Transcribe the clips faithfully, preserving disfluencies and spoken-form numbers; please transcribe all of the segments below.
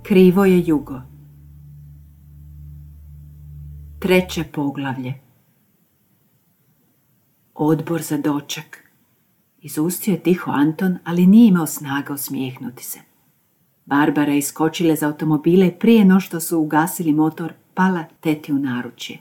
Krivo je jugo. Treće poglavlje. Odbor za doček. Izustio je tiho Anton, ali nije imao snaga osmijehnuti se. Barbara je iskočila iz automobila i prije no što su ugasili motor, pala teti u naručje.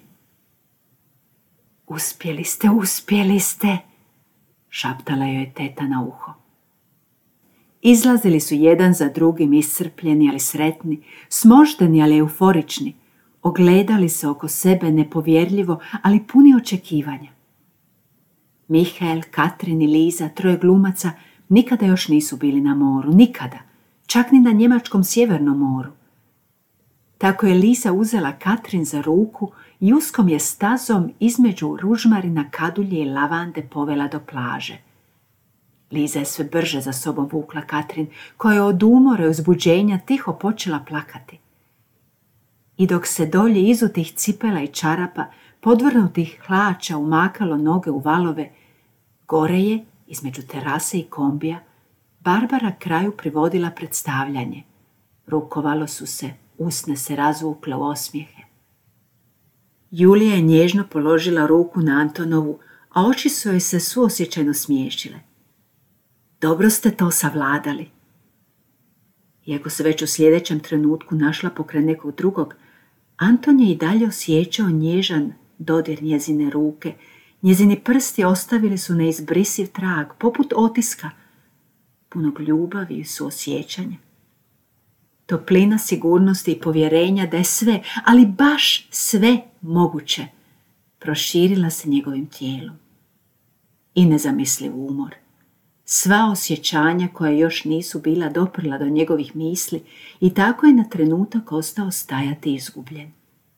Uspjeli ste, uspjeli ste, šaptala joj je teta na uho. Izlazili su jedan za drugim iscrpljeni, ali sretni, smošteni, ali euforični. Ogledali se oko sebe nepovjerljivo, ali puni očekivanja. Mihael, Katrin i Liza, troje glumaca, nikada još nisu bili na moru, nikada, čak ni na njemačkom sjevernom moru. Tako je Liza uzela Katrin za ruku i uskom je stazom između ružmarina, kadulje i lavande povela do plaže. Liza je sve brže za sobom vukla Katrin, koja je od umora i uzbuđenja tiho počela plakati. I dok se dolje izutih cipela i čarapa, podvrnutih hlača umakalo noge u valove, gore je, između terase i kombija, Barbara kraju privodila predstavljanje. Rukovalo su se, usne se razvukle u osmijehe. Julija je nježno položila ruku na Antonovu, a oči su joj se suosjećajno smiješile. Dobro ste to savladali. Iako se već u sljedećem trenutku našla pokraj nekog drugog, Anton je i dalje osjećao nježan dodir njezine ruke. Njezini prsti ostavili su neizbrisiv trag, poput otiska, punog ljubavi i suosjećanja. Toplina sigurnosti i povjerenja da je sve, ali baš sve moguće, proširila se njegovim tijelom. I nezamisliv umor. Sva osjećanja koja još nisu bila doprla do njegovih misli i tako je na trenutak ostao stajati izgubljen.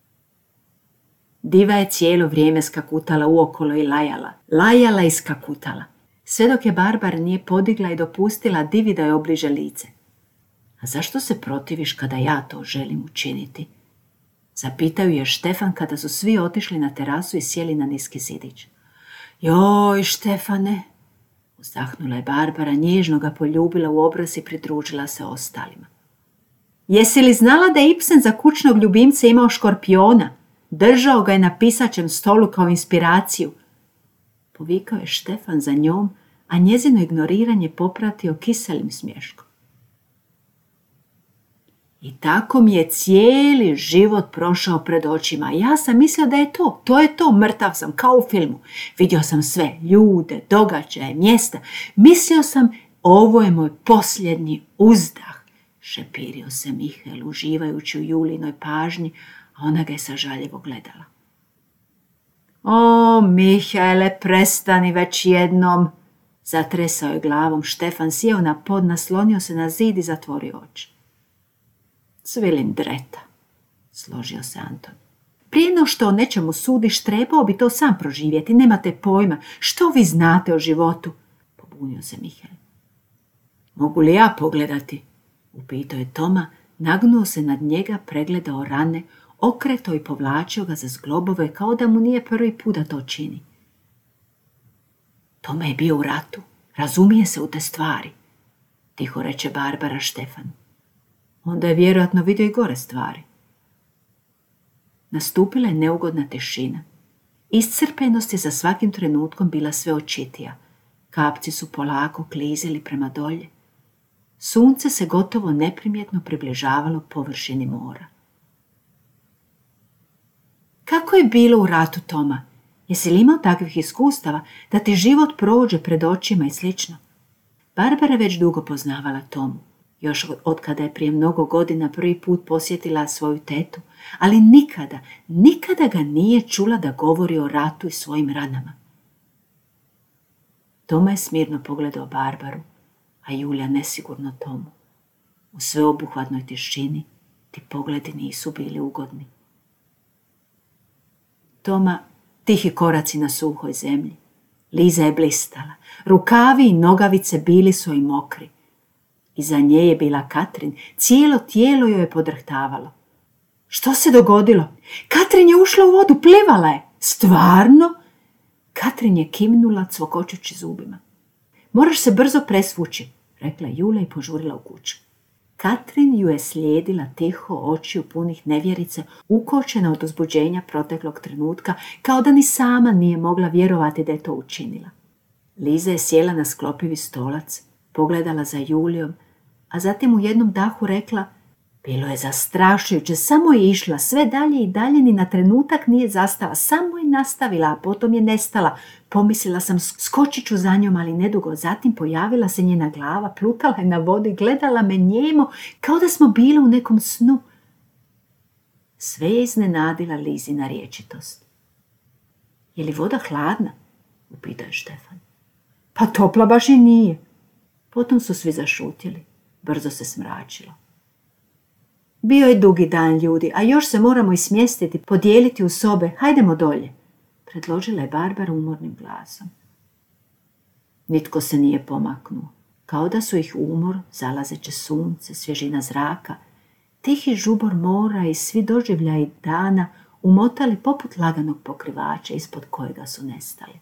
Diva je cijelo vrijeme skakutala uokolo i lajala, lajala i skakutala, sve dok je Barbara nije podigla i dopustila Divi da je obliže lice. A zašto se protiviš kada ja to želim učiniti? Zapitaju je Štefan kada su svi otišli na terasu i sjeli na niski zidić. Joj, Štefane, uzdahnula je Barbara, nježno ga poljubila u obraz i pridružila se ostalima. Jesi li znala da je Ibsen za kućnog ljubimca imao škorpiona? Držao ga je na pisaćem stolu kao inspiraciju. Povikao je Štefan za njom, a njezino ignoriranje popratio kiselim smješkom. I tako mi je cijeli život prošao pred očima. Ja sam mislio da je to, to je to, mrtav sam, kao u filmu. Vidio sam sve, ljude, događaje, mjesta. Mislio sam, ovo je moj posljednji uzdah, šepirio se Mihael, uživajući u Julinoj pažnji, a ona ga je sažaljevo gledala. O, Mihaele, prestani već jednom, zatresao je glavom Štefan, sjeo na pod, naslonio se na zid i zatvorio oči. Cvilindreta, složio se Anton. Prije no što o nečemu sudiš, trebao bi to sam proživjeti, nemate pojma. Što vi znate o životu? Pobunio se Mihael. Mogu li ja pogledati? Upitao je Toma, nagnuo se nad njega, pregledao rane, okretao i povlačio ga za zglobove kao da mu nije prvi put da to čini. Toma je bio u ratu, razumije se u te stvari, tiho reče Barbara Štefanu. Onda je vjerojatno vidio i gore stvari. Nastupila je neugodna tišina. Iscrpenost je za svakim trenutkom bila sve očitija. Kapci su polako klizili prema dolje. Sunce se gotovo neprimjetno približavalo površini mora. Kako je bilo u ratu, Toma? Jesi li imao takvih iskustava da ti život prođe pred očima i slično? Barbara već dugo poznavala Tomu. Još od kada je prije mnogo godina prvi put posjetila svoju tetu, ali nikada, nikada ga nije čula da govori o ratu i svojim ranama. Toma je smirno pogledao Barbaru, a Julija nesigurno Tomu. U sveobuhvatnoj tišini ti pogledi nisu bili ugodni. Toma, tihi koraci na suhoj zemlji. Liza je blistala, rukavi i nogavice bili su joj mokri. Iza nje je bila Katrin, cijelo tijelo joj je podrhtavalo. Što se dogodilo? Katrin je ušla u vodu, plivala je. Stvarno? Katrin je kimnula cvokočući zubima. Moraš se brzo presvući, rekla Julija i požurila u kuću. Katrin ju je slijedila tiho, očiju punih nevjerice, ukočena od uzbuđenja proteklog trenutka, kao da ni sama nije mogla vjerovati da je to učinila. Liza je sjela na sklopivi stolac, pogledala za Julijom, a zatim u jednom dahu rekla: bilo je zastrašujuće, samo je išla sve dalje i dalje, ni na trenutak nije zastala, samo je nastavila, a potom je nestala. Pomislila sam, skočit ću za njom, ali nedugo zatim pojavila se njena glava, plutala je na vodi, gledala me njemo, kao da smo bili u nekom snu. Sve je iznenadila Lizina rječitost. Je li voda hladna? Upitao je Štefan. Pa topla baš i nije. Potom su svi zašutjeli. Brzo se smračilo. Bio je dugi dan, ljudi, a još se moramo ismjestiti, podijeliti u sobe. Hajdemo dolje, predložila je Barbara umornim glasom. Nitko se nije pomaknuo, kao da su ih umor, zalazeće sunce, svježina zraka, tihi žubor mora i svi doživljaji dana umotali poput laganog pokrivača ispod kojega su nestali.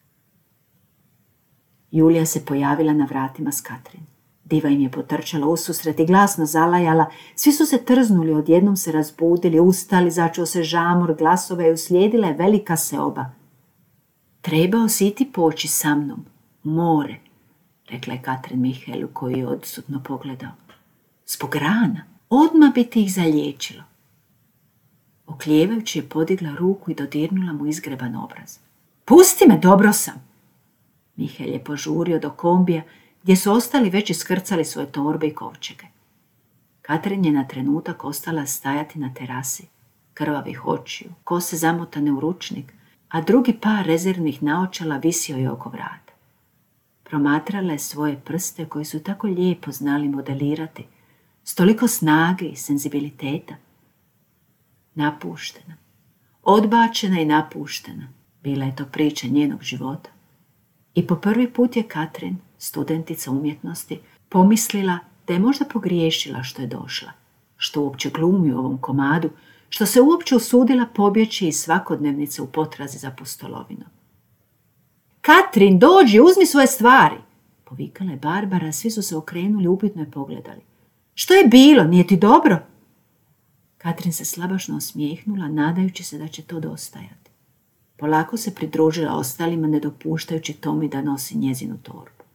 Julija se pojavila na vratima s Katrin. Diva im je potrčala ususret i glasno zalajala. Svi su se trznuli, odjednom se razbudili, ustali, začuo se žamor, glasova i uslijedila je velika seoba. Trebao si ti poći sa mnom, more, rekla je Katrin Mihaelu, koji je odsutno pogledao. Zbog rana, odmah bi ti ih zaliječilo. Oklijevajući je podigla ruku i dodirnula mu izgreban obraz. Pusti me, dobro sam. Mihael je požurio do kombija, gdje su ostali već iskrcali svoje torbe i kovčege. Katrin je na trenutak ostala stajati na terasi, krvavih očiju, kose zamotane u ručnik, a drugi par rezervnih naočala visio je oko vrata. Promatrala je svoje prste koji su tako lijepo znali modelirati, s toliko snage i senzibiliteta. Napuštena, odbačena i napuštena, bila je to priča njenog života. I po prvi put je Katrin, studentica umjetnosti, pomislila da je možda pogriješila što je došla, što uopće glumi u ovom komadu, što se uopće usudila pobjeći iz svakodnevnice u potrazi za pustolovinom. Katrin, dođi, uzmi svoje stvari, povikala je Barbara, svi su se okrenuli, upitno je pogledali. Što je bilo, nije ti dobro? Katrin se slabašno osmijehnula, nadajući se da će to dostajati. Polako se pridružila ostalima, ne dopuštajući Tomi da nosi njezinu torbu.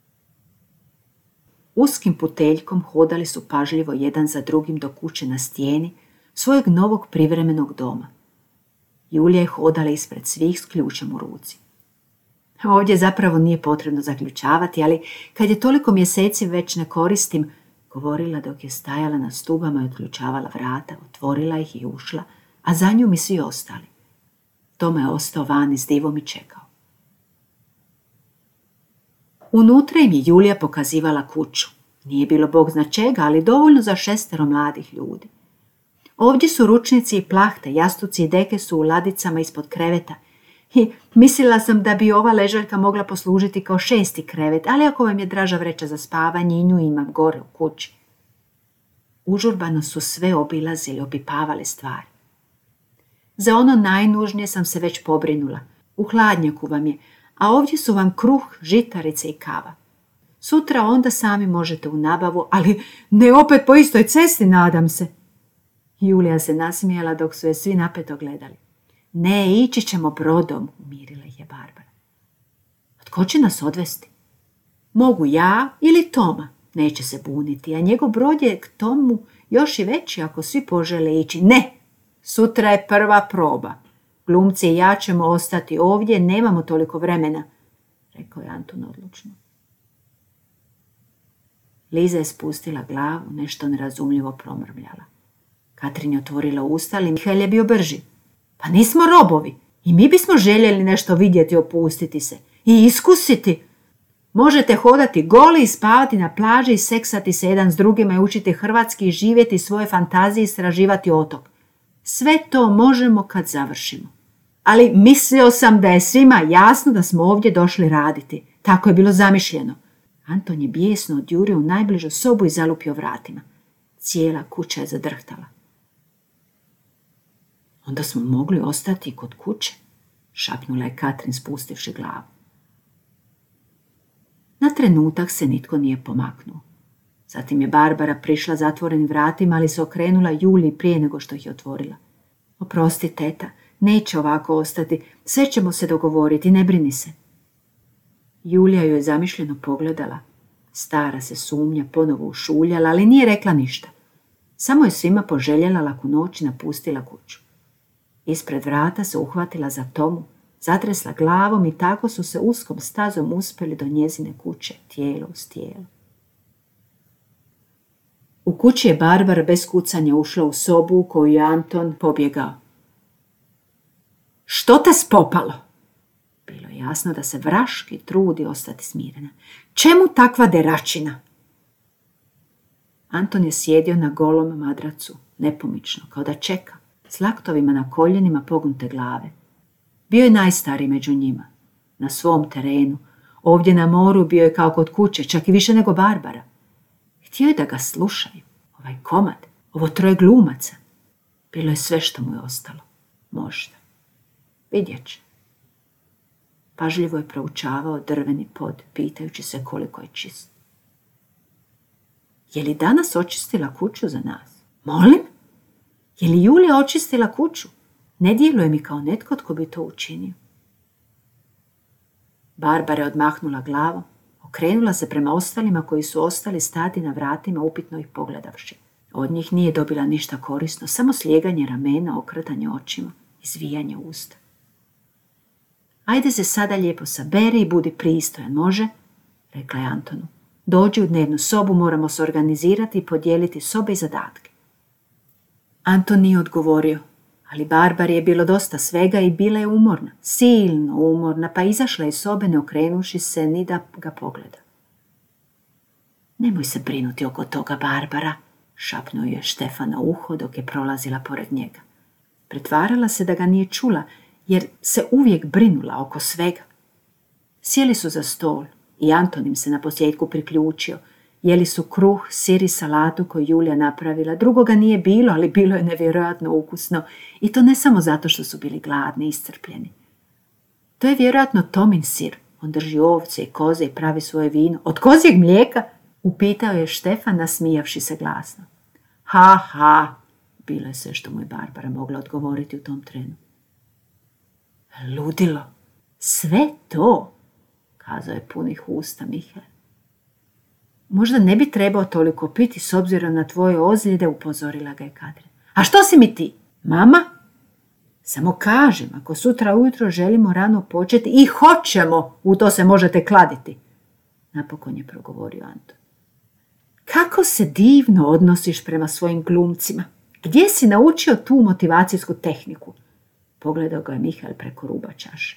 Uskim puteljkom hodali su pažljivo jedan za drugim do kuće na stijeni svojeg novog privremenog doma. Julija je hodala ispred svih s ključem u ruci. Ovdje zapravo nije potrebno zaključavati, ali kad je toliko mjeseci već ne koristim, govorila dok je stajala na stubama i otključavala vrata, otvorila ih i ušla, a za njom i svi ostali. Tome je ostao vani s divom i čekao. Unutra im je Julija pokazivala kuću. Nije bilo bog zna čega, ali dovoljno za šestero mladih ljudi. Ovdje su ručnici i plahte, jastuci i deke su u ladicama ispod kreveta. I mislila sam da bi ova ležaljka mogla poslužiti kao šesti krevet, ali ako vam je draža vreća za spavanje, i nju imam gore u kući. Užurbano su sve obilazili, opipavali stvari. Za ono najnužnije sam se već pobrinula. U hladnjaku vam je, a ovdje su vam kruh, žitarice i kava. Sutra onda sami možete u nabavu, ali ne opet po istoj cesti, nadam se. Julija se nasmijala dok su je svi napeto gledali. Ne, ići ćemo brodom, umirila ih je Barbara. Tko će nas odvesti? Mogu ja ili Toma, neće se buniti, a njegov brod je k tomu još i veći ako svi požele ići. Ne, sutra je prva proba. Glumci i ja ćemo ostati ovdje, nemamo toliko vremena, rekao je Antun odlučno. Liza je spustila glavu, nešto nerazumljivo promrmljala. Katrin je otvorila usta, ali Mihael je bio brži. Pa nismo robovi i mi bismo željeli nešto vidjeti, opustiti se i iskusiti. Možete hodati goli i spavati na plaži i seksati se jedan s drugima i učiti hrvatski i živjeti svoje fantazije i istraživati otok. Sve to možemo kad završimo. Ali mislio sam da je svima jasno da smo ovdje došli raditi. Tako je bilo zamišljeno. Anton je bijesno odjurio u najbližu sobu i zalupio vratima. Cijela kuća je zadrhtala. Onda smo mogli ostati kod kuće, šapnula je Katrin spustivši glavu. Na trenutak se nitko nije pomaknuo. Zatim je Barbara prišla zatvorenim vratima, ali se okrenula Juliji prije nego što ih je otvorila. Oprosti, teta, neće ovako ostati, sve ćemo se dogovoriti, ne brini se. Julija ju je zamišljeno pogledala. Stara se sumnja ponovo ušuljala, ali nije rekla ništa. Samo je svima poželjela laku noć i napustila kuću. Ispred vrata se uhvatila za Tomu, zatresla glavom i tako su se uskom stazom uspjeli do njezine kuće, tijelo uz tijelo. U kući je Barbara bez kucanja ušla u sobu u koju je Anton pobjegao. Što te spopalo? Bilo je jasno da se vraški trudi ostati smirena. Čemu takva deračina? Anton je sjedio na golom madracu, nepomično, kao da čeka, s laktovima na koljenima pognute glave. Bio je najstariji među njima, na svom terenu. Ovdje na moru bio je kao kod kuće, čak i više nego Barbara. Htio je da ga slušaju, ovaj komad, ovo troje glumaca. Bilo je sve što mu je ostalo. Možda. Vidjet će. Pažljivo je proučavao drveni pod, pitajući se koliko je čist. Je li danas očistila kuću za nas? Molim? Je li Julija očistila kuću? Ne djeluje mi kao netko tko bi to učinio. Barbara je odmahnula glavom, okrenula se prema ostalima koji su ostali stati na vratima upitno ih pogledavši. Od njih nije dobila ništa korisno, samo slijeganje ramena, okretanje očima, izvijanje usta. Ajde se sada lijepo saberi i budi pristojan, može? Rekla je Antonu. Dođi u dnevnu sobu, moramo se organizirati i podijeliti sobe i zadatke. Anton nije odgovorio, ali Barbari je bilo dosta svega i bila je umorna, silno umorna, pa izašla iz sobe ne okrenuši se ni da ga pogleda. Nemoj se brinuti oko toga, Barbara, šapnuo je Štefan na uho dok je prolazila pored njega. Pretvarala se da ga nije čula, jer se uvijek brinula oko svega. Sjeli su za stol i Anton im se na posljedku priključio. Jeli su kruh, sir i salatu koju Julija napravila. Drugoga nije bilo, ali bilo je nevjerojatno ukusno. I to ne samo zato što su bili gladni i iscrpljeni. To je vjerojatno Tomin sir. On drži ovce i koze i pravi svoje vino. Od kozjeg mlijeka? Upitao je Štefan, nasmijavši se glasno. Ha, ha, bilo je sve što mu je Barbara mogla odgovoriti u tom trenu. Ludilo, sve to, kazao je punih usta Mihael. Možda ne bi trebao toliko piti s obzirom na tvoje ozljede, upozorila ga je Katrin. A što si mi ti? Mama? Samo kažem, ako sutra ujutro želimo rano početi i hoćemo, u to se možete kladiti. Napokon je progovorio Anton. Kako se divno odnosiš prema svojim glumcima. Gdje si naučio tu motivacijsku tehniku? Pogledao ga je Mihael preko ruba čaše.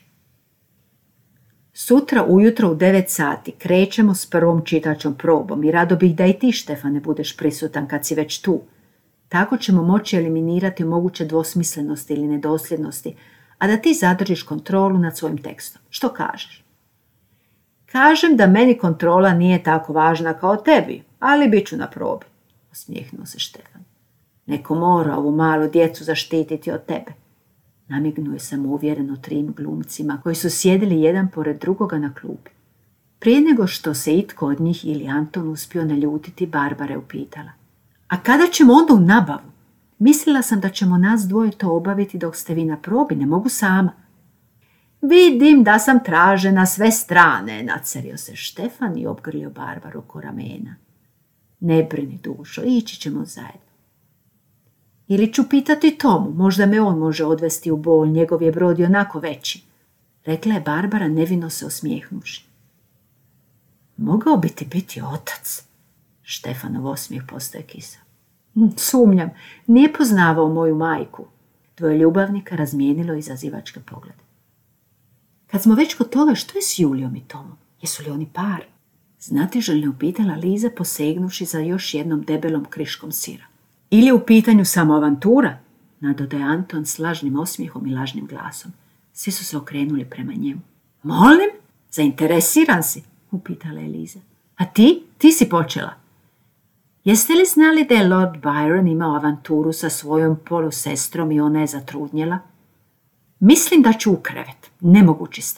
Sutra ujutro u devet sati krećemo s prvom čitačom probom i rado bih da i ti, Štefane, budeš prisutan kad si već tu. Tako ćemo moći eliminirati moguće dvosmislenosti ili nedosljednosti, a da ti zadržiš kontrolu nad svojim tekstom. Što kažeš? Kažem da meni kontrola nije tako važna kao tebi, ali bit ću na probi, osmijehnuo se Štefan. Neko mora ovu malu djecu zaštititi od tebe. Namignuo je samouvjereno trim glumcima koji su sjedili jedan pored drugoga na klupi. Prije nego što se itko od njih ili Anton uspio naljutiti, Barbara je upitala. A kada ćemo onda u nabavu? Mislila sam da ćemo nas dvoje to obaviti dok ste vi na probi, ne mogu sama. Vidim da sam tražena sve strane, nacerio se Štefan i obgrlio Barbaru oko ramena. Ne brini, dušo, ići ćemo zajedno. Ili ću pitati Tomu, možda me on može odvesti u bol, njegov je brod i onako veći, rekla je Barbara nevino se osmijehnuši. Mogao bi ti biti otac. Štefanov osmijeh postaje kisav. Sumnjam, nije poznavao moju majku. Dvoje ljubavnika razmijenilo izazivačke poglede. Kad smo već kod toga, što je s Julijom i Tomom? Jesu li oni par? Znatiželjno upitala Liza posegnuši za još jednom debelom kriškom sira. Ili je u pitanju samo avantura? Nadodaje Anton s lažnim osmijehom i lažnim glasom. Svi su se okrenuli prema njemu. Molim? Zainteresiran si? Upitala je Liza. A ti? Ti si počela. Jeste li znali da je Lord Byron imao avanturu sa svojom polusestrom i ona je zatrudnjela? Mislim da ću u krevet. Nemogući ste.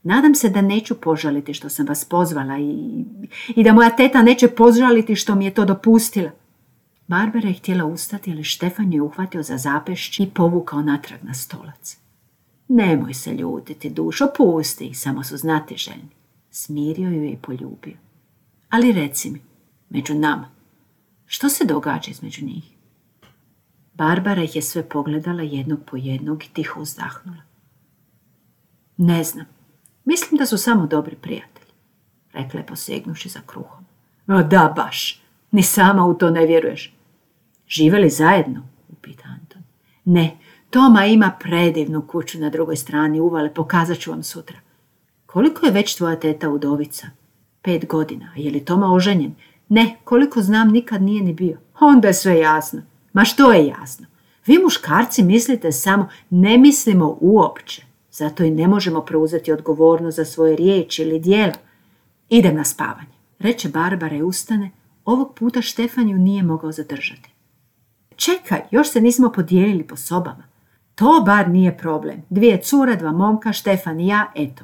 Nadam se da neću požaliti što sam vas pozvala i, i da moja teta neće požaliti što mi je to dopustila. Barbara je htjela ustati, ali Štefan je uhvatio za zapešće i povukao natrag na stolac. Nemoj se ljutiti, dušo, pusti ih, samo su znatiželjni. Smirio ju je i poljubio. Ali reci mi, među nama, što se događa između njih? Barbara ih je sve pogledala jednog po jednog i tiho uzdahnula. Ne znam, mislim da su samo dobri prijatelji, rekla je posegnuši za kruhom. O da, baš, ni sama u to ne vjeruješ. Žive li zajedno? Upita Anton. Ne, Toma ima predivnu kuću na drugoj strani uvale, pokazat ću vam sutra. Koliko je već tvoja teta udovica? Pet godina. Je li Toma oženjen? Ne, koliko znam nikad nije ni bio. Onda je sve jasno. Ma što je jasno? Vi muškarci mislite samo, ne mislimo uopće. Zato i ne možemo preuzeti odgovornost za svoje riječi ili djela. Idem na spavanje, reče Barbara i ustane. Ovog puta Štefan ju nije mogao zadržati. Čekaj, još se nismo podijelili po sobama. To bar nije problem. Dvije cure, dva momka, Štefan i ja, eto.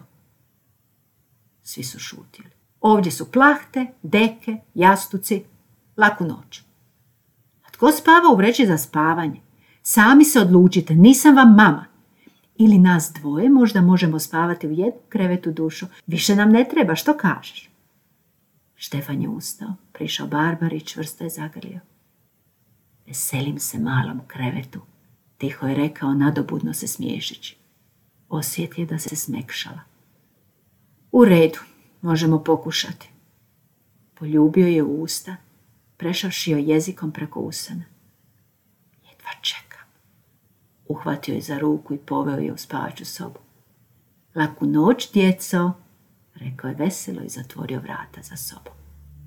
Svi su šutjeli. Ovdje su plahte, deke, jastuci, laku noć. A tko spava u vreći za spavanje? Sami se odlučite, nisam vam mama. Ili nas dvoje možda možemo spavati u jednu krevetu, dušo. Više nam ne treba, što kažeš? Štefan je ustao, prišao Barbari i čvrsto je zagrlio. Veselim se malom krevetu, tiho je rekao nadobudno se smiješeći. Osjetio da se smekšala. U redu, možemo pokušati. Poljubio je u usta, prešavši joj jezikom preko usana. Jedva čekam. Uhvatio je za ruku i poveo je u spavaću sobu. Laku noć, djeco, rekao je veselo i zatvorio vrata za sobom.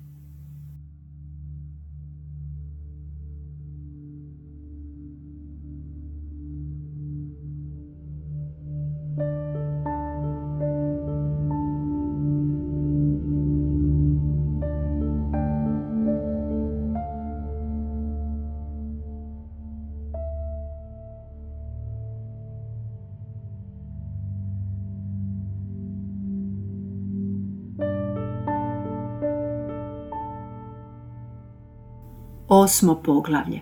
Osmo poglavlje.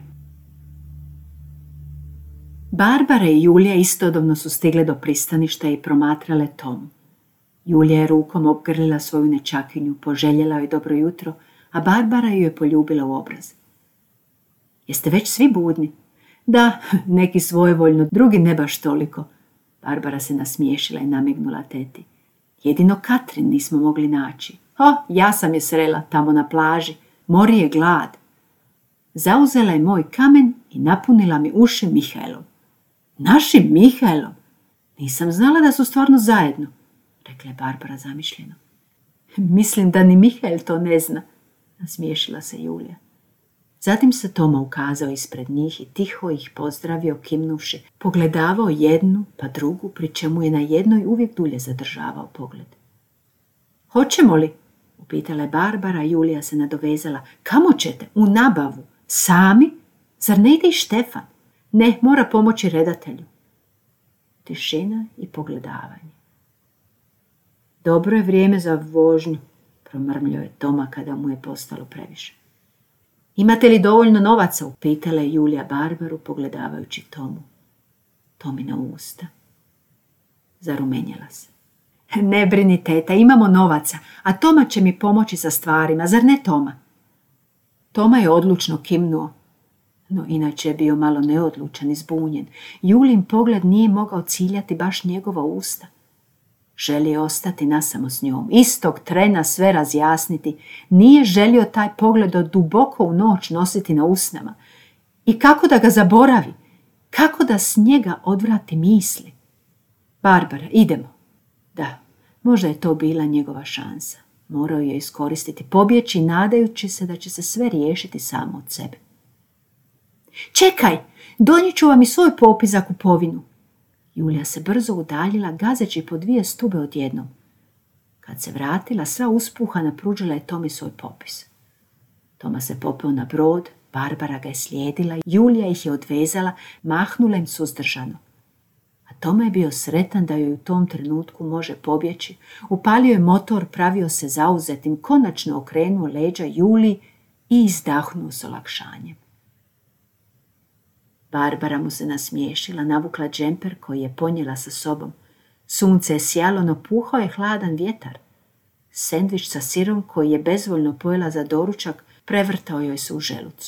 Barbara i Julija istodobno su stigle do pristaništa i promatrale Tomu. Julija je rukom obgrlila svoju nečakinju, poželjela joj dobro jutro, a Barbara ju je poljubila u obraz. Jeste već svi budni? Da, neki svojevoljno, drugi ne baš toliko. Barbara se nasmiješila i namignula teti. Jedino Katrin nismo mogli naći. O, ja sam je srela tamo na plaži. Mori je glad. Zauzela je moj kamen i napunila mi uši Mihaelom. Našim Mihaelom? Nisam znala da su stvarno zajedno, rekla je Barbara zamišljeno. Mislim da ni Mihael to ne zna, nasmiješila se Julija. Zatim se Toma ukazao ispred njih i tiho ih pozdravio kimnuši, pogledavao jednu pa drugu, pri čemu je na jednoj uvijek dulje zadržavao pogled. Hoćemo li? Upitala je Barbara, Julija se nadovezala. Kamo ćete? U nabavu. Sami? Zar ne ide i Štefan? Ne, mora pomoći redatelju. Tišina i pogledavanje. Dobro je vrijeme za vožnju, promrmljao je Toma kada mu je postalo previše. Imate li dovoljno novaca? Upitala je Julija Barbaru pogledavajući Tomu. Tomina usta. Zarumenjala se. Ne brini, teta, imamo novaca, a Toma će mi pomoći sa stvarima, zar ne, Toma? Toma je odlučno kimnuo, no inače je bio malo neodlučan i zbunjen. Julin pogled nije mogao ciljati baš njegova usta. Želio ostati nasamo s njom, istog trena sve razjasniti. Nije želio taj pogled od duboko u noć nositi na usnama. I kako da ga zaboravi? Kako da s njega odvrati misli? Barbara, idemo. Da, možda je to bila njegova šansa. Morao je iskoristiti, pobjeći nadajući se da će se sve riješiti samo od sebe. Čekaj, donijet ću vam i svoj popis za kupovinu. Julija se brzo udaljila, gazeći po dvije stube odjednom. Kad se vratila, sva uspuhana, pružila je Tomi svoj popis. Toma se popeo na brod, Barbara ga je slijedila, Julija ih je odvezala, mahnula im suzdržano. A Toma je bio sretan da joj u tom trenutku može pobjeći. Upalio je motor, pravio se zauzetim, konačno okrenuo leđa Juliji i izdahnuo s olakšanjem. Barbara mu se nasmiješila, navukla džemper koji je ponijela sa sobom. Sunce je sjalo, no puhao je hladan vjetar. Sendvič sa sirom koji je bezvoljno pojela za doručak prevrtao joj se u želucu.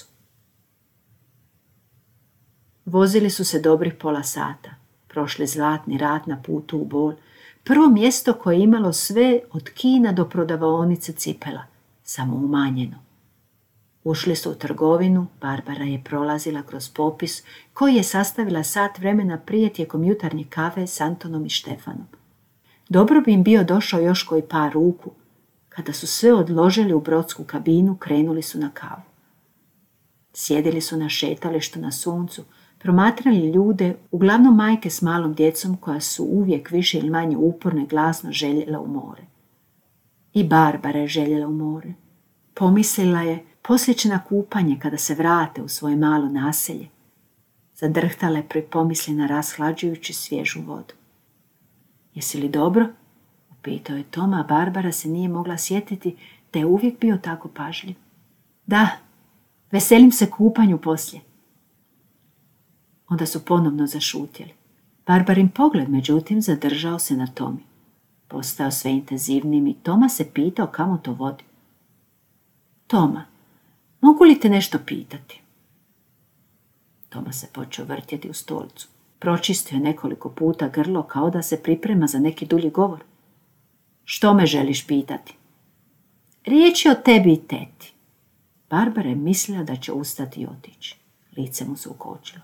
Vozili su se dobrih pola sata. Prošli zlatni rat na putu u Bol. Prvo mjesto koje je imalo sve od kina do prodavaonice cipela, samo umanjeno. Ušli su u trgovinu, Barbara je prolazila kroz popis koji je sastavila sat vremena prije tijekom jutarnje kave s Antonom i Štefanom. Dobro bi im bio došao još koji par ruku. Kada su sve odložili u brodsku kabinu, krenuli su na kavu. Sjedili su na šetalištu na suncu, promatrali ljude, uglavnom majke s malom djecom koja su uvijek više ili manje uporno i glasno željela u more. I Barbara je željela u more. Pomislila je, poslije će na kupanje kada se vrate u svoje malo naselje. Zadrhtala je pri pomisli na rashlađujući svježu vodu. Jesi li dobro? Upitao je Toma, a Barbara se nije mogla sjetiti da je uvijek bio tako pažljiv. Da, veselim se kupanju poslije. Onda su ponovno zašutjeli. Barbarin pogled, međutim, zadržao se na Tomi. Postao sve intenzivnijim i Toma se pitao kamo to vodi. Toma, mogu li te nešto pitati? Toma se počeo vrtjeti u stolicu. Pročistio je nekoliko puta grlo kao da se priprema za neki dulji govor. Što me želiš pitati? Riječ je o tebi i teti. Barbara je mislila da će ustati i otići. Lice mu se ukočilo.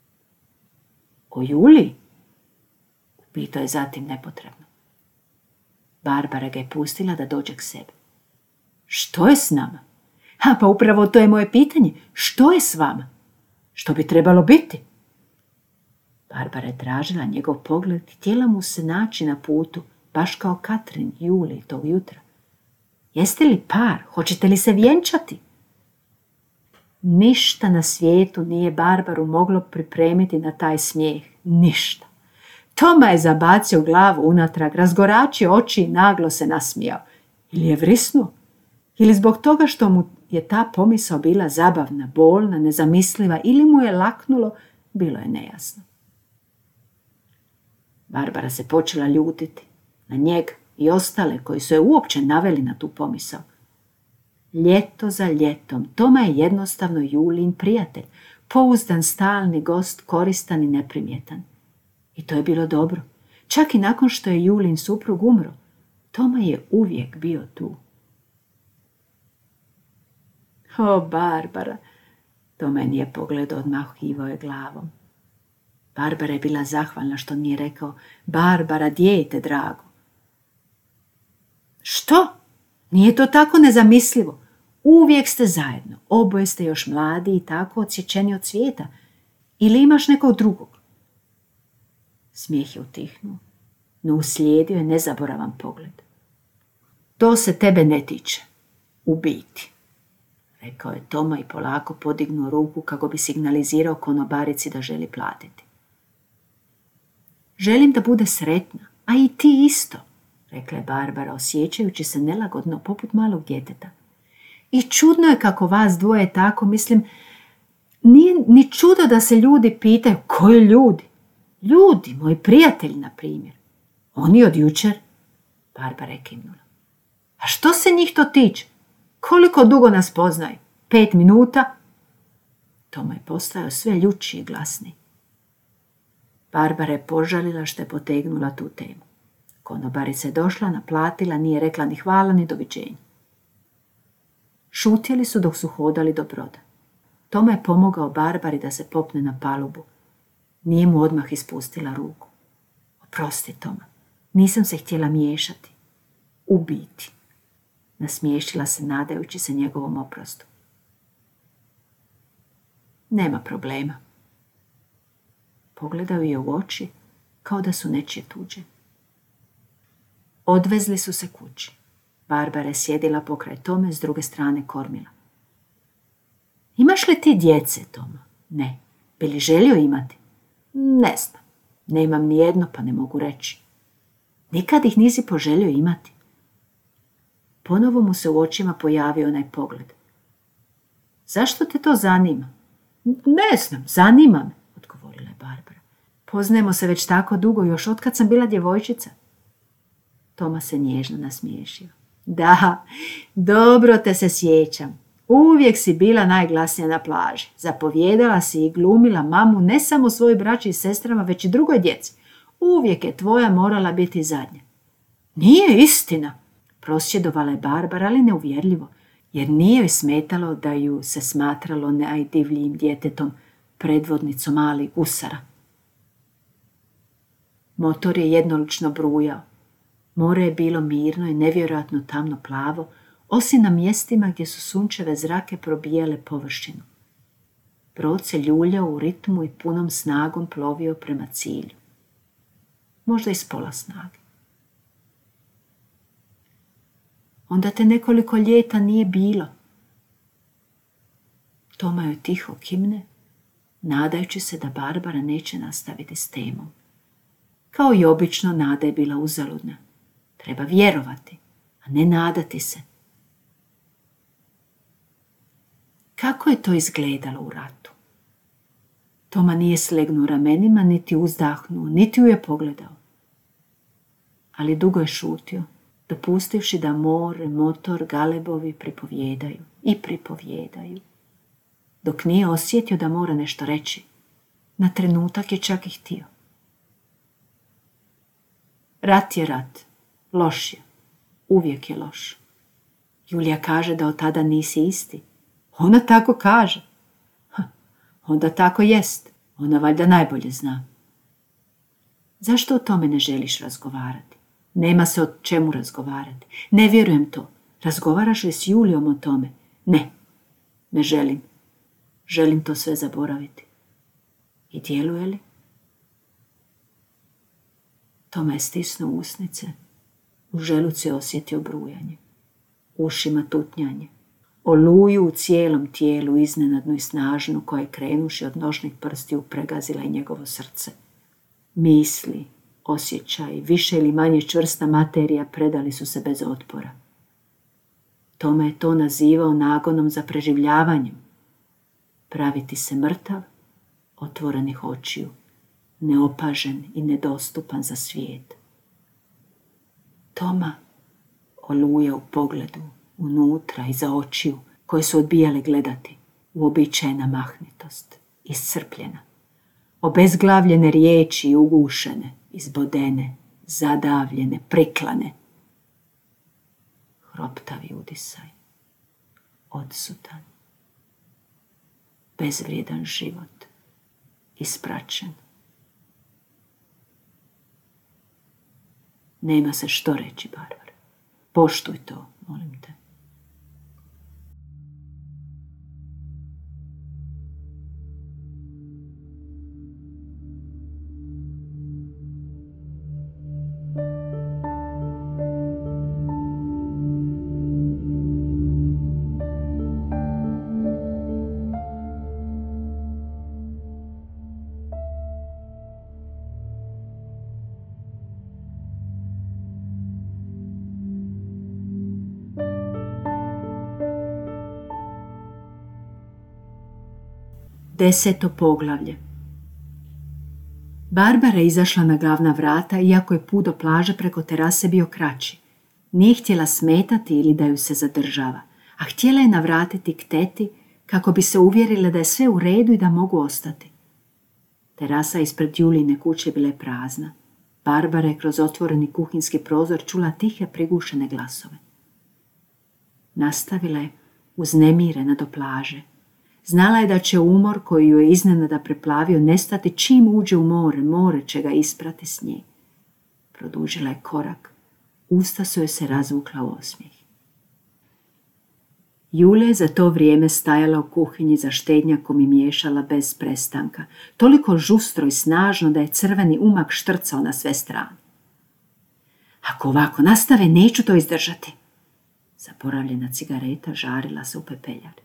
O Juliji? Upitao je zatim nepotrebno. Barbara ga je pustila da dođe k sebi. Što je s nama? Ha, pa upravo to je moje pitanje. Što je s vama? Što bi trebalo biti? Barbara je tražila njegov pogled i htjela mu se naći na putu, baš kao Katrin Juliji tog jutra. Jeste li par? Hoćete li se vjenčati? Ništa na svijetu nije Barbaru moglo pripremiti na taj smijeh. Ništa. Toma je zabacio glavu unatrag, razgoračio oči i naglo se nasmijao. Ili je vrisnuo? Ili zbog toga što mu je ta pomisao bila zabavna, bolna, nezamisliva, ili mu je laknulo, bilo je nejasno. Barbara se počela ljutiti na njega i ostale koji su je uopće naveli na tu pomisao. Ljeto za ljetom, Toma je jednostavno Julijin prijatelj, pouzdan, stalni gost, koristan i neprimjetan. I to je bilo dobro. Čak i nakon što je Julijin suprug umro, Toma je uvijek bio tu. O, Barbara, Toma je nije pogledao, odmahivao je glavom. Barbara je bila zahvalna što nije rekao, Barbara, dijete drago. Što? Nije to tako nezamislivo. Uvijek ste zajedno, oboje ste još mladi i tako odsječeni od svijeta. Ili imaš nekog drugog? Smijeh je utihnuo, no uslijedio je nezaboravan pogled. To se tebe ne tiče, u biti, rekao je Toma i polako podignuo ruku kako bi signalizirao konobarici da želi platiti. Želim da bude sretna, a i ti isto, rekla je Barbara, osjećajući se nelagodno poput malog djeteta. I čudno je kako vas dvoje tako, mislim, nije ni čudo da se ljudi pitaju, koji ljudi? Ljudi, moji prijatelji, na primjer. Oni od jučer? Barbara je kimnula. A što se njih to tiče? Koliko dugo nas poznaju? Pet minuta? Toma je postajao sve ljući i glasniji. Barbara je požalila što je potegnula tu temu. Konobarica je došla, naplatila, nije rekla ni hvala ni doviđenja. Šutjeli su dok su hodali do broda. Toma je pomogao Barbari da se popne na palubu. Nije mu odmah ispustila ruku. Oprosti, Toma, nisam se htjela miješati. U biti. Nasmiješila se nadajući se njegovom oprostu. Nema problema. Pogledao je u oči kao da su nečije tuđe. Odvezli su se kući. Barbara je sjedila pokraj Tome s druge strane kormila. Imaš li ti djece, Toma? Ne. Bi li želio imati? Ne znam. Nemam ni jedno, pa ne mogu reći. Nikad ih nisi poželio imati. Ponovo mu se u očima pojavio onaj pogled. Zašto te to zanima? Ne znam, zanima me, odgovorila je Barbara. Poznajemo se već tako dugo, još otkad sam bila djevojčica. Toma se nježno nasmiješio. Da, dobro te se sjećam. Uvijek si bila najglasnija na plaži. Zapovjedala si i glumila mamu ne samo svojoj braći i sestrama, već i drugoj djeci. Uvijek je tvoja morala biti zadnja. Nije istina, prosvjedovala je Barbara, ali neuvjerljivo, jer nije joj smetalo da ju se smatralo najdivljijim djetetom, predvodnicom malih gusara. Motor je jednolično brujao. More je bilo mirno i nevjerojatno tamno plavo, osim na mjestima gdje su sunčeve zrake probijale površinu. Brod se ljuljao u ritmu i punom snagom plovio prema cilju. Možda i s pola snage. Onda te nekoliko ljeta nije bilo. Toma joj tiho kimne, nadajući se da Barbara neće nastaviti s temom. Kao i obično, nada je bila uzaludna. Treba vjerovati, a ne nadati se. Kako je to izgledalo u ratu? Toma nije slegnuo ramenima, niti uzdahnuo, niti ju je pogledao. Ali dugo je šutio, dopustivši da more, motor, galebovi pripovjedaju i pripovjedaju. Dok nije osjetio da mora nešto reći, na trenutak je čak i htio. Rat je rat, loš je, uvijek je loš. Julija kaže da od tada nisi isti. Ona tako kaže. Ha, onda tako jest, ona valjda najbolje zna. Zašto o tome ne želiš razgovarati? Nema se o čemu razgovarati. Ne vjerujem to. Razgovaraš li s Julijom o tome? Ne, ne želim. Želim to sve zaboraviti. I djeluje li? Toma je stisnuo usnice. U želuci je osjetio brujanje. Ušima tutnjanje. Oluju u cijelom tijelu, iznenadnu i snažnu, koja je krenuši od nožnih prstiju pregazila i njegovo srce. Misli, osjećaj, više ili manje čvrsta materija predali su se bez otpora. Toma je to nazivao nagonom za preživljavanjem. Praviti se mrtav, otvorenih očiju, neopažen i nedostupan za svijet. Toma, oluja u pogledu, unutra iza očiju, koje su odbijale gledati, uobičajena mahnitost, iscrpljena, obezglavljene riječi, ugušene, izbodene, zadavljene, priklane. Hroptavi udisaj, odsutan, bezvrijedan život, ispraćen. Nema se što reći, Barbara. Poštuj to, molim te. Deseto poglavlje. Barbara je izašla na glavna vrata, iako je put do plaže preko terase bio kraći. Nije htjela smetati ili da ju se zadržava, a htjela je navratiti k teti kako bi se uvjerila da je sve u redu i da mogu ostati. Terasa ispred Julijine kuće bila je prazna. Barbara je kroz otvoreni kuhinski prozor čula tihe prigušene glasove. Nastavila je uznemirena do plaže. Znala je da će umor koji ju je iznenada preplavio nestati čim uđe u more, more će ga isprati s nje. Produžila je korak. Usta su joj se razvukla u osmijeh. Julija je za to vrijeme stajala u kuhinji za štednjakom i miješala bez prestanka, toliko žustro i snažno da je crveni umak štrcao na sve strane. Ako ovako nastave, neću to izdržati. Zaboravljena cigareta žarila se u pepeljari.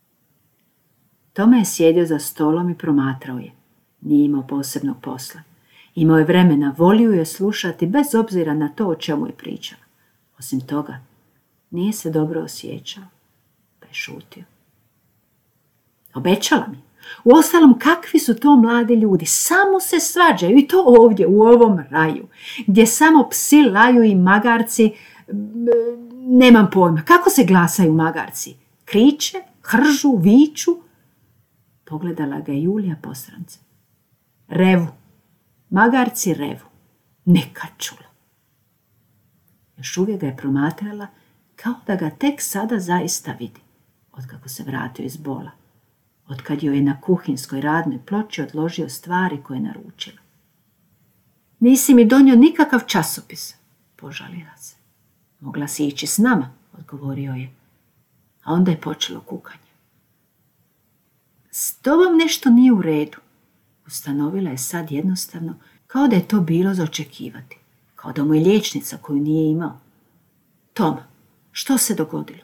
Toma je sjedio za stolom i promatrao je. Nije imao posebnog posla. Imao je vremena, volio je slušati bez obzira na to o čemu je pričala. Osim toga, nije se dobro osjećao, pa je šutio. Obećala mi. Uostalom, kakvi su to mladi ljudi? Samo se svađaju i to ovdje, u ovom raju, gdje samo psi laju i magarci. Nemam pojma, kako se glasaju magarci? Kriče, hržu, viču? Pogledala ga je Julija posrance. Revu. Magarci revu. Neka čula. Još uvijek ga je promatrala kao da ga tek sada zaista vidi, otkako se vratio iz bola, otkad joj je na kuhinskoj radnoj ploči odložio stvari koje je naručila. Nisi mi donio nikakav časopis, požalila se. Mogla si ići s nama, odgovorio je, a onda je počelo kukanje. S tobom nešto nije u redu, ustanovila je sad jednostavno, kao da je to bilo za očekivati, kao da mu je liječnica koju nije imao. Tom, što se dogodilo?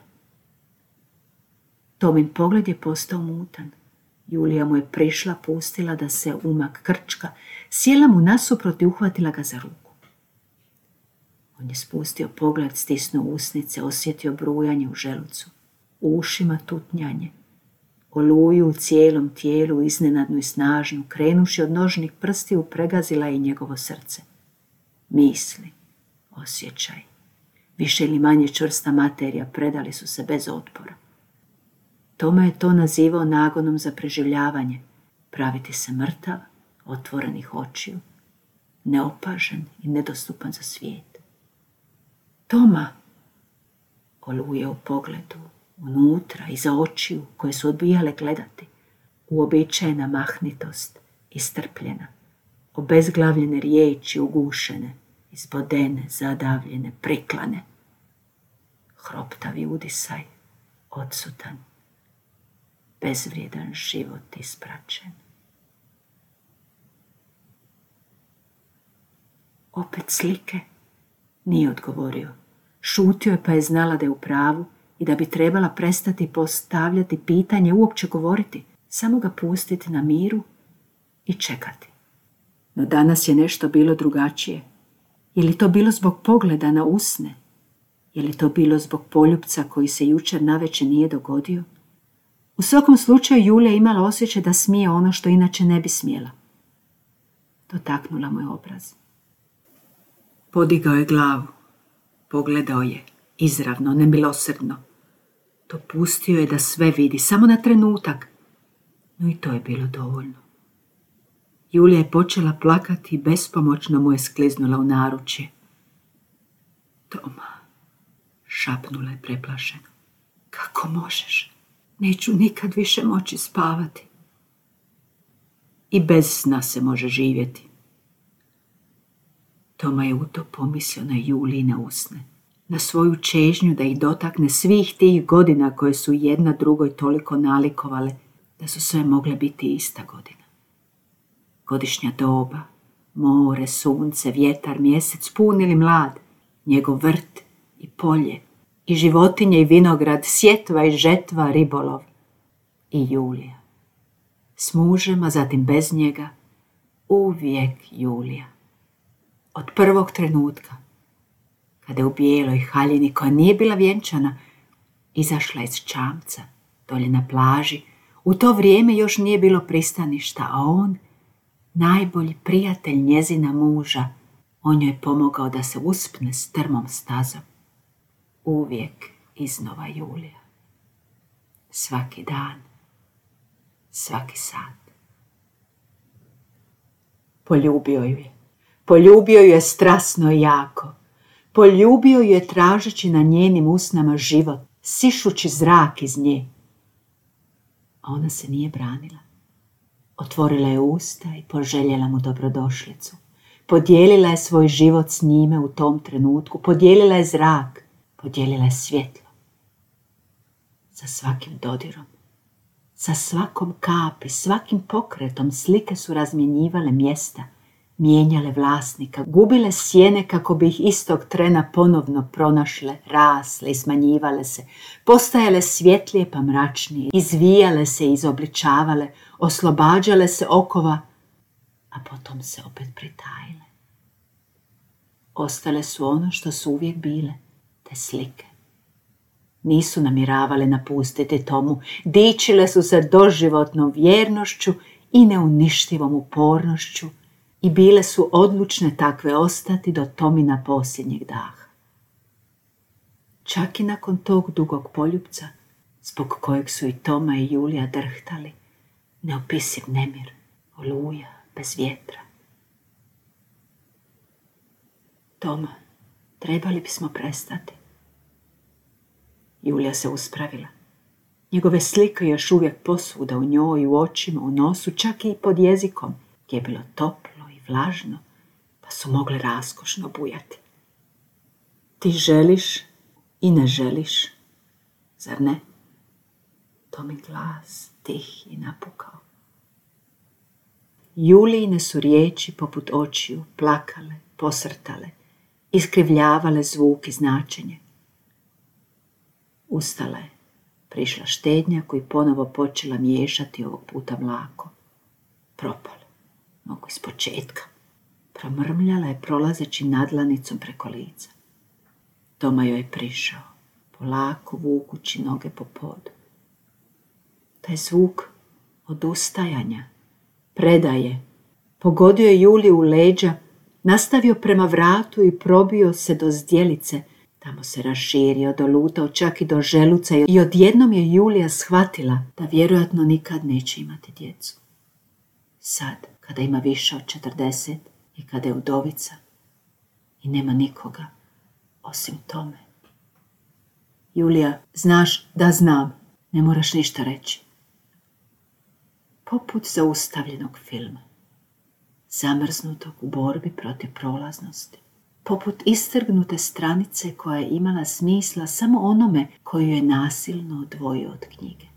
Tomin pogled je postao mutan. Julija mu je prišla, pustila da se umak krčka, sjela mu nasuprot i uhvatila ga za ruku. On je spustio pogled, stisnuo usnice, osjetio brujanje u želucu, u ušima tutnjanje, oluju u cijelom tijelu, iznenadnu i snažnu, krenuši od nožnih prstiju, pregazila je njegovo srce. Misli, osjećaj, više ili manje čvrsta materija predali su se bez otpora. Toma je to nazivao nagonom za preživljavanje, praviti se mrtav, otvorenih očiju, neopažen i nedostupan za svijet. Toma, oluje u pogledu, unutra, iza očiju koje su odbijale gledati, uobičajena mahnitost, istrpljena, obezglavljene riječi ugušene, izbodene, zadavljene, priklane. Hroptavi udisaj, odsutan, bezvrijedan život ispraćen. Opet slike? Nije odgovorio. Šutio je pa je znala da je u pravu i da bi trebala prestati postavljati pitanje, uopće govoriti, samo ga pustiti na miru i čekati. No danas je nešto bilo drugačije. Je li to bilo zbog pogleda na usne? Je li to bilo zbog poljupca koji se jučer navečer nije dogodio? U svakom slučaju Julija imala osjećaj da smije ono što inače ne bi smjela. Dotaknula mu je obraz. Podigao je glavu. Pogledao je, izravno, nemilosrdno. Dopustio je da sve vidi, samo na trenutak. No i to je bilo dovoljno. Julija je počela plakati i bespomoćno mu je skliznula u naručje. Toma, šapnula je preplašeno. Kako možeš? Neću nikad više moći spavati. I bez sna se može živjeti. Toma je u to pomislio na Julijine usne, na svoju čežnju da ih dotakne svih tih godina koje su jedna drugoj toliko nalikovale da su sve mogle biti ista godina. Godišnja doba, more, sunce, vjetar, mjesec, pun ili mlad, njegov vrt i polje, i životinje i vinograd, sjetva i žetva, ribolov i Julija. S mužem, a zatim bez njega, uvijek Julija. Od prvog trenutka, kada je u bijeloj haljini koja nije bila vjenčana, izašla iz čamca, dolje na plaži, u to vrijeme još nije bilo pristaništa, a on, najbolji prijatelj njezina muža, on joj je pomogao da se uspne strmom stazom. Uvijek iznova Julija. Svaki dan, svaki sat. Poljubio ju je. Poljubio ju je strasno i jako. Poljubio ju je tražeći na njenim usnama život, sišući zrak iz nje. A ona se nije branila. Otvorila je usta i poželjela mu dobrodošlicu. Podijelila je svoj život s njime u tom trenutku. Podijelila je zrak. Podijelila je svjetlo. Sa svakim dodirom, sa svakom kapi, svakim pokretom slike su razmjenjivale mjesta, mijenjale vlasnika, gubile sjene kako bi ih istog trena ponovno pronašle, rasle i smanjivale se, postajale svjetlije pa mračnije, izvijale se i izobličavale, oslobađale se okova, a a potom se opet pritajile. Ostale su ono što su uvijek bile, te slike. Nisu namiravale napustiti Tomu, dičile su se doživotnom vjernošću i neuništivom upornošću i bile su odlučne takve ostati do Tomina posljednjeg daha. Čak i nakon tog dugog poljupca, zbog kojeg su i Toma i Julija drhtali, neopisiv nemir, oluja bez vjetra. Toma, trebali bismo prestati. Julija se uspravila. Njegove slike još uvijek posvuda u njoj, u očima, u nosu, čak i pod jezikom, gdje je bilo toplo i vlažno, pa su mogle raskošno bujati. Ti želiš i ne želiš, zar ne? Tomin glas tih i napukao. Julijine su riječi poput očiju plakale, posrtale, iskrivljavale zvuk i značenje. Ustala je, prišla štednja koji ponovo počela miješati ovog puta mlako. Propale, mogu iz početka. Promrmljala je prolazeći nadlanicom preko lica. Toma joj je prišao, polako vukući noge po podu. Taj zvuk odustajanja, predaje, pogodio je Juliju u leđa, nastavio prema vratu i probio se do zdjelice. Tamo se raširio, dolutao čak i do želuca i odjednom je Julija shvatila da vjerojatno nikad neće imati djecu. Sad, kada ima više od četrdeset i kada je udovica i nema nikoga osim Tome. Julija, znaš da znam, ne moraš ništa reći. Poput zaustavljenog filma, zamrznutog u borbi protiv prolaznosti. Poput istrgnute stranice koja je imala smisla samo onome koju je nasilno odvojio od knjige.